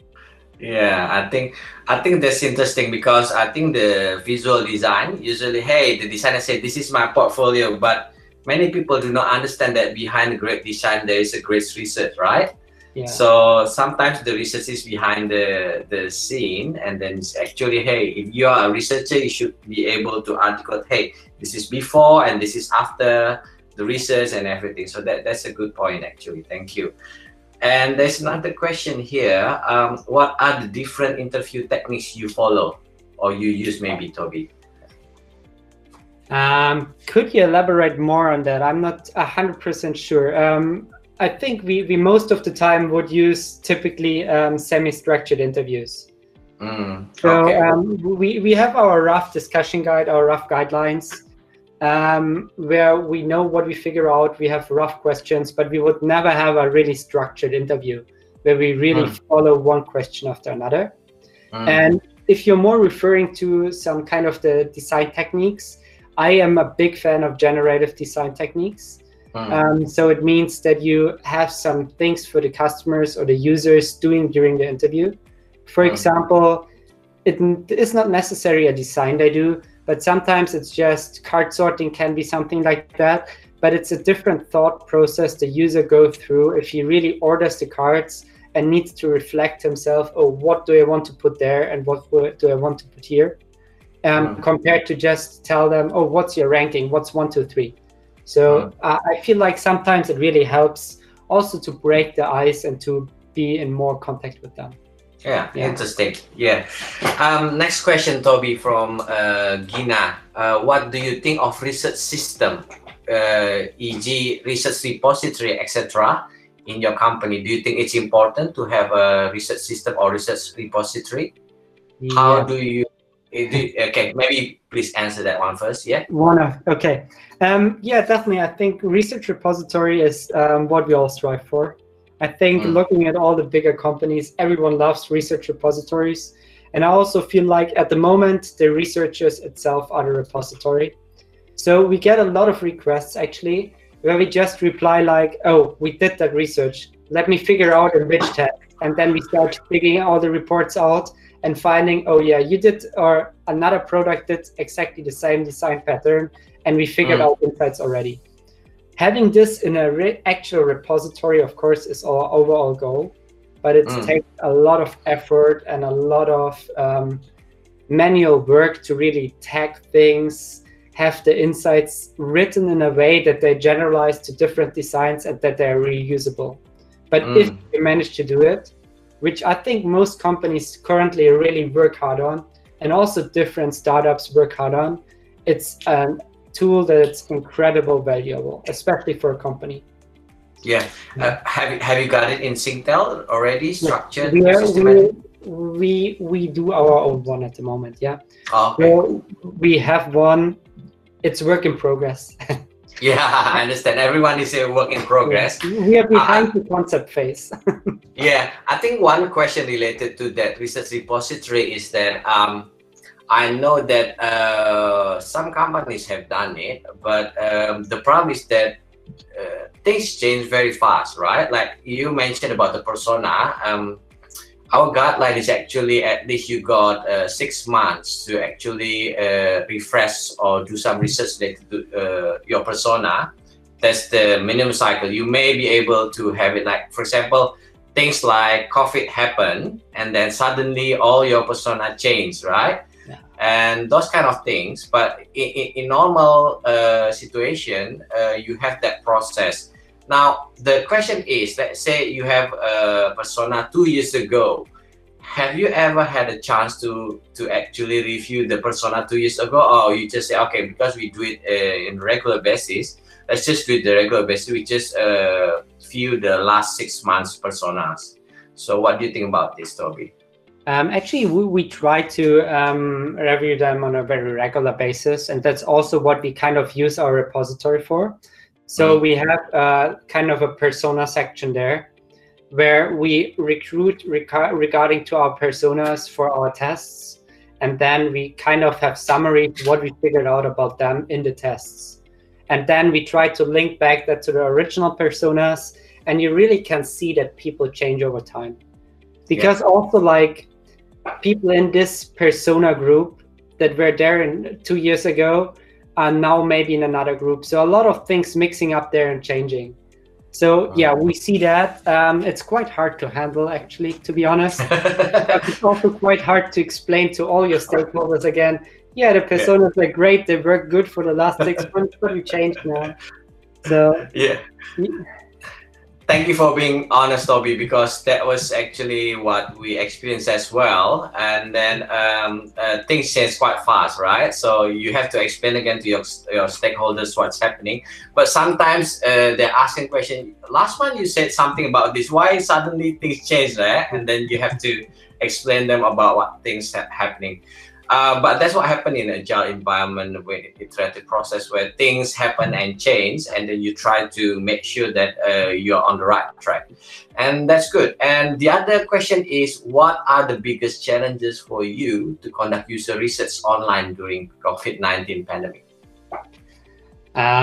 Yeah, I think I think that's interesting, because I think the visual design usually, hey, the designer said this is my portfolio, but many people do not understand that behind a great design there is a great research, right? Yeah. So sometimes the research is behind the the scene, and then it's actually, hey, if you are a researcher, you should be able to articulate, hey, this is before and this is after the research and everything. So that that's a good point actually. Thank you. And there's another question here. Um, what are the different interview techniques you follow or you use, maybe, Toby? Um, could you elaborate more on that? I'm not one hundred percent sure. Um, I think we, we most of the time would use typically um, semi-structured interviews. Mm, So okay. um, we, we have our rough discussion guide, our rough guidelines, um, where we know what we figure out. We have rough questions, but we would never have a really structured interview where we really Mm. follow one question after another. Mm, And if you're more referring to some kind of the design techniques, I am a big fan of generative design techniques. mm, Um, so it means that you have some things for the customers or the users doing during the interview. For Mm. example, it n- is not necessarily a design they do, but sometimes it's just card sorting can be something like that. But it's a different thought process the user go through if he really orders the cards and needs to reflect himself, oh, what do I want to put there and what do I want to put here? Um, mm. Compared to just tell them, oh, what's your ranking? What's one, two, three? So mm. uh, I feel like sometimes it really helps also to break the ice and to be in more contact with them. Yeah, yeah. Interesting. Yeah. Um, next question, Toby, from uh, Gina. Uh, what do you think of research system, uh, for example research repository, et cetera in your company? Do you think it's important to have a research system or research repository? Yeah. How do you, do, okay, maybe please answer that one first, yeah? One of, okay. Um, yeah, definitely. I think research repository is um, what we all strive for. I think mm. looking at all the bigger companies, everyone loves research repositories. And I also feel like at the moment, the researchers itself are the repository. So we get a lot of requests actually, where we just reply like, oh, we did that research. Let me figure out in which tab. And then we start digging all the reports out and finding, oh yeah, you did, or another product did exactly the same design pattern. And we figured mm. out insights already. Having this in a re actual repository, of course, is our overall goal, but it mm. takes a lot of effort and a lot of um, manual work to really tag things, have the insights written in a way that they generalize to different designs and that they're reusable. But mm. if you manage to do it, which I think most companies currently really work hard on, and also different startups work hard on, it's an tool that's incredible valuable, especially for a company. Yeah, uh, have you have you got it in Singtel already structured? We, are, we, we we do our own one at the moment. Yeah. Oh, okay. So we have one. It's work in progress. Yeah, I understand. Everyone is a work in progress. Yeah. We are behind uh, the concept phase. Yeah, I think one question related to that research repository is that um. I know that uh, some companies have done it, but um, the problem is that uh, things change very fast, right? Like you mentioned about the persona. Um, our guideline is actually at least you got uh, six months to actually uh, refresh or do some research related to uh, your persona. That's the minimum cycle. You may be able to have it like, for example, things like COVID happen and then suddenly all your persona change, right? And those kind of things, but in, in, in normal uh, situation, uh, you have that process. Now, the question is, let's say you have a persona two years ago. Have you ever had a chance to to actually review the persona two years ago, or you just say, okay, because we do it uh, in regular basis, let's just do it the regular basis. We just uh, view the last six months personas. So, what do you think about this, Toby? Um, actually, we, we try to um, review them on a very regular basis, and that's also what we kind of use our repository for. So mm. we have uh, kind of a persona section there, where we recruit rec regarding to our personas for our tests, and then we kind of have summary what we figured out about them in the tests. And then we try to link back that to the original personas, and you really can see that people change over time. Because yeah. also like, people in this persona group that were there in two years ago are now maybe in another group. So a lot of things mixing up there and changing. So yeah, we see that. Um, it's quite hard to handle actually, to be honest. It's also quite hard to explain to all your stakeholders again, yeah, the personas yeah. are great, they work good for the last six months, but we changed now. So yeah. yeah. Thank you for being honest, Toby, because that was actually what we experienced as well. And then um, uh, things change quite fast, right? So you have to explain again to your, your stakeholders what's happening. But sometimes uh, they're asking questions. Last month you said something about this. Why suddenly things change, right? And then you have to explain them about what things are happening. Uh, but that's what happened in agile environment, with iterative process, where things happen and change, and then you try to make sure that uh, you're on the right track, and that's good. And the other question is, what are the biggest challenges for you to conduct user research online during COVID nineteen pandemic?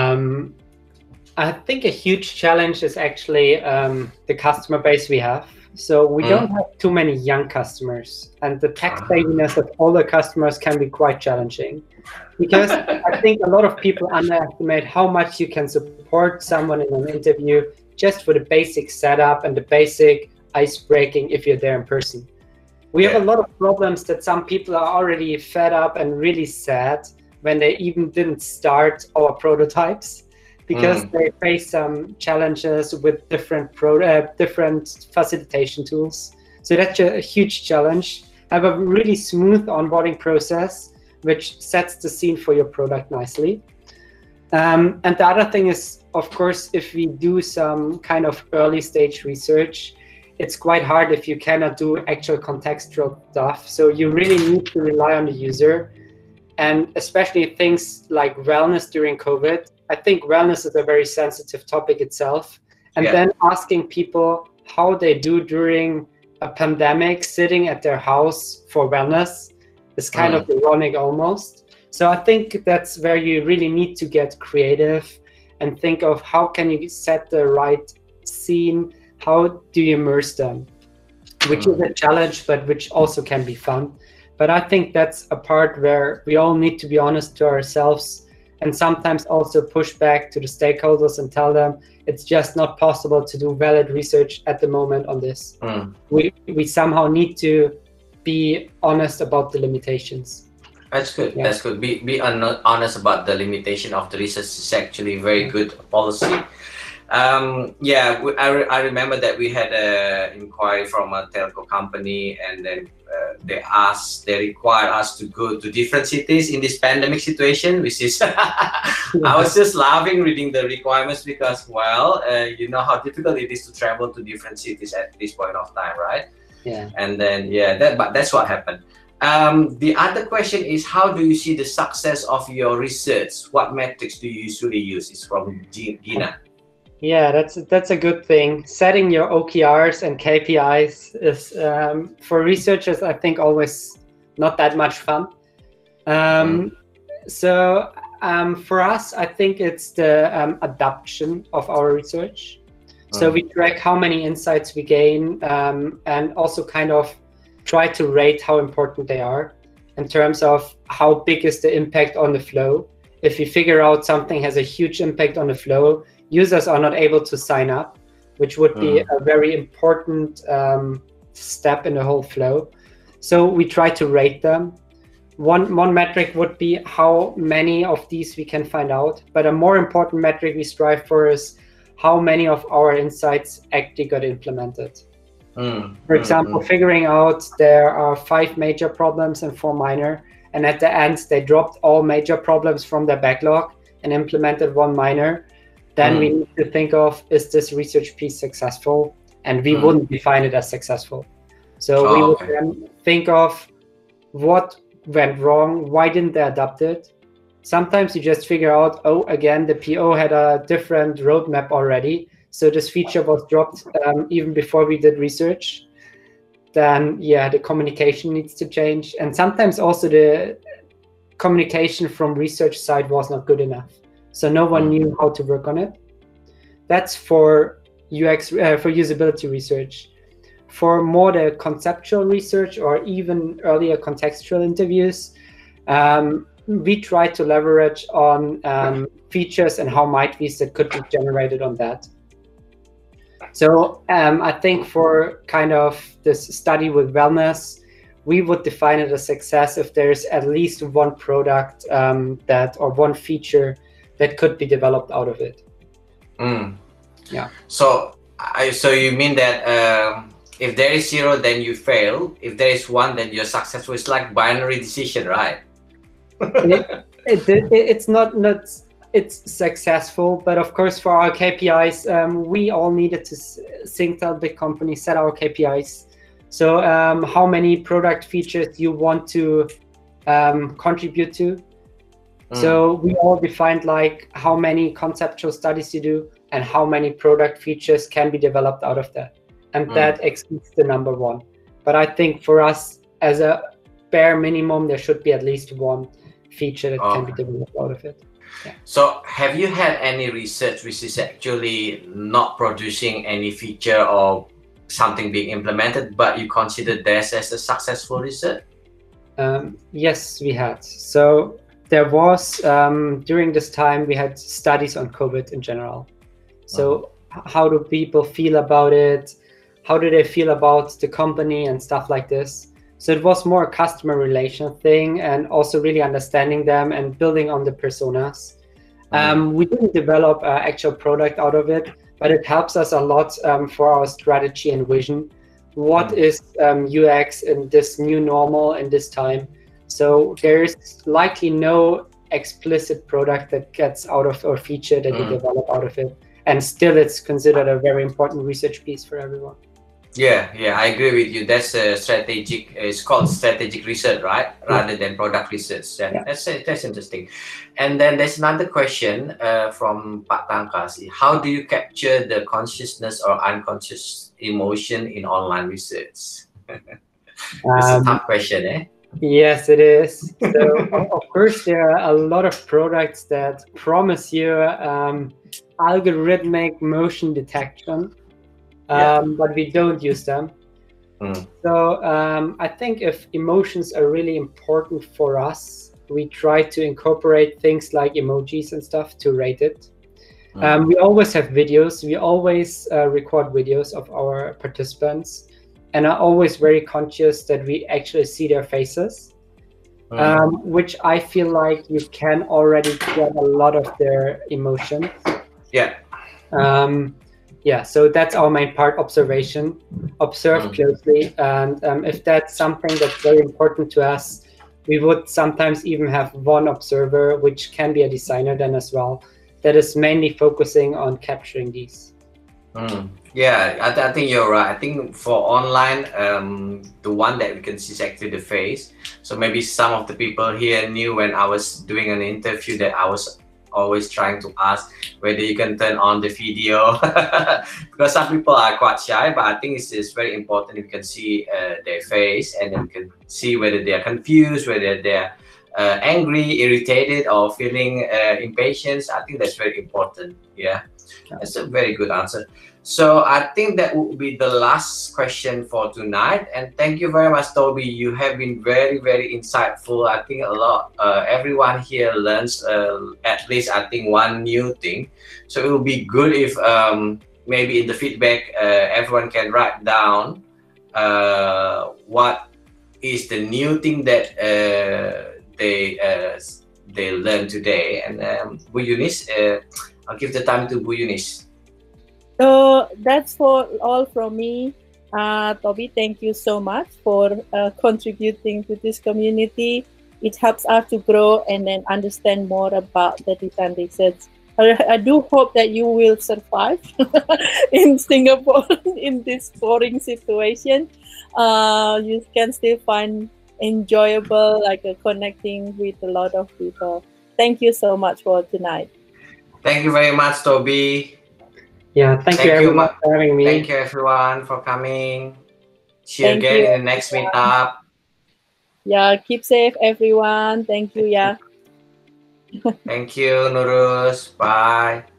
Um, I think a huge challenge is actually um, the customer base we have. So we Mm. don't have too many young customers, and the tech savviness of older customers can be quite challenging, because I think a lot of people underestimate how much you can support someone in an interview just for the basic setup and the basic ice breaking if you're there in person. We have a Yeah. lot of problems that some people are already fed up and really sad when they even didn't start our prototypes, because Mm. they face some challenges with different pro uh, different facilitation tools. So that's a, a huge challenge. Have a really smooth onboarding process, which sets the scene for your product nicely. Um, and the other thing is, of course, if we do some kind of early stage research, it's quite hard if you cannot do actual contextual stuff. So you really need to rely on the user, and especially things like wellness during COVID. I think wellness is a very sensitive topic itself. And Yeah. then asking people how they do during a pandemic, sitting at their house for wellness, is kind Mm. of ironic almost. So I think that's where you really need to get creative and think of how can you set the right scene, how do you immerse them, which is a challenge, but which also can be fun. But I think that's a part where we all need to be honest to ourselves, and sometimes also push back to the stakeholders and tell them it's just not possible to do valid research at the moment on this. Mm. We, we somehow need to be honest about the limitations. That's good. Yeah. That's good. Be be hon- honest about the limitation of the research is actually very good policy. Um, yeah, we, I, re- I remember that we had a inquiry from a telco company, and then uh, they asked, they required us to go to different cities in this pandemic situation, which is, I was just laughing reading the requirements because, well, uh, you know how difficult it is to travel to different cities at this point of time, right? Yeah. And then, yeah, that but that's what happened. Um, the other question is, how do you see the success of your research? What metrics do you usually use? It's from G- Gina. Yeah, that's that's a good thing. Setting your O K Rs and K P Is is um, for researchers, I think, always not that much fun. Um, so um, for us, I think it's the um, adoption of our research. So we track how many insights we gain, um, and also kind of try to rate how important they are in terms of how big is the impact on the flow. If we figure out something has a huge impact on the flow, users are not able to sign up, which would be Mm. a very important um, step in the whole flow. So we try to rate them. One, one metric would be how many of these we can find out, but a more important metric we strive for is how many of our insights actually got implemented. Mm. For Mm, example, mm. figuring out there are five major problems and four minor, and at the end they dropped all major problems from their backlog and implemented one minor, then Mm. we need to think of, is this research piece successful? And we Mm. wouldn't define it as successful. So Oh, we would okay. then think of what went wrong, why didn't they adopt it? Sometimes you just figure out, oh, again, the P O had a different roadmap already, so this feature was dropped um, even before we did research. Then, yeah, the communication needs to change. And sometimes also the communication from research side was not good enough. So no one Mm. knew how to work on it. That's for U X, uh, for usability research. For more the conceptual research or even earlier contextual interviews, um, we try to leverage on um, features and how might be's that could be generated on that. So um, I think for kind of this study with wellness, we would define it as success if there's at least one product um, that or one feature that could be developed out of it. Mm. Yeah. So, I, so you mean that um, if there is zero, then you fail. If there is one, then you're successful. It's like binary decision, right? it, it, it, it's not not it's successful, but of course for our K P Is, um, we all needed to think tell big companies set our K P Is. So um, how many product features you want to um, contribute to. Mm. So we all defined like how many conceptual studies you do and how many product features can be developed out of that. And Mm. that exceeds the number one. But I think for us as a bare minimum, there should be at least one feature that can be Okay. developed out of it. So, have you had any research which is actually not producing any feature or something being implemented, but you consider this as a successful research? Um, yes, we had. So there was, um, during this time, we had studies on COVID in general. So uh-huh. how do people feel about it? How do they feel about the company and stuff like this? So it was more a customer relation thing, and also really understanding them and building on the personas. Um, we didn't develop an actual product out of it, but it helps us a lot um, for our strategy and vision. What mm. is um, U X in this new normal in this time? So there's likely no explicit product that gets out of, or feature that mm. you develop out of it. And still it's considered a very important research piece for everyone. Yeah, yeah, I agree with you. That's a strategic, it's called strategic research, right? Rather yeah. than product research. Yeah, yeah. That's that's interesting. And then there's another question uh, from Pak Tangkasi. How do you capture the consciousness or unconscious emotion in online research? It's um, a tough question, eh? Yes, it is. So, of course, there are a lot of products that promise you um, algorithmic motion detection. Um, yeah. But we don't use them. Mm. So um, I think if emotions are really important for us, we try to incorporate things like emojis and stuff to rate it. Mm. Um, we always have videos. We always uh, record videos of our participants, and are always very conscious that we actually see their faces, mm. um, which I feel like you can already get a lot of their emotions. Yeah. Um, Yeah, so that's our main part, observation. Observe mm. closely, and um, if that's something that's very important to us, we would sometimes even have one observer, which can be a designer then as well, that is mainly focusing on capturing these. Mm. Yeah, I, th I think you're right. I think for online, um, the one that we can see is actually the face. So maybe some of the people here knew when I was doing an interview that I was always trying to ask whether you can turn on the video because some people are quite shy, but I think it's, it's very important if you can see uh, their face, and then you can see whether they are confused, whether they're uh, angry, irritated, or feeling uh, impatient. I think that's very important. Yeah, that's a very good answer. So I think that would be the last question for tonight. And thank you very much, Toby. You have been very, very insightful. I think a lot, uh, everyone here learns uh, at least, I think, one new thing. So it would be good if um, maybe in the feedback, uh, everyone can write down uh, what is the new thing that uh, they uh, they learned today. And um, Bu Yunis, uh, I'll give the time to Bu Yunis. So that's for all from me. Uh, Toby, thank you so much for uh, contributing to this community. It helps us to grow and then understand more about the design research. I, I do hope that you will survive in Singapore in this boring situation. Uh, you can still find enjoyable, like uh, connecting with a lot of people. Thank you so much for tonight. Thank you very much, Toby. Yeah, thank, thank you everyone you, for having me. Thank you everyone for coming. See you thank again you, in the next everyone. meetup. Yeah, keep safe everyone. Thank you, yeah. Thank you, Nuruz. Bye.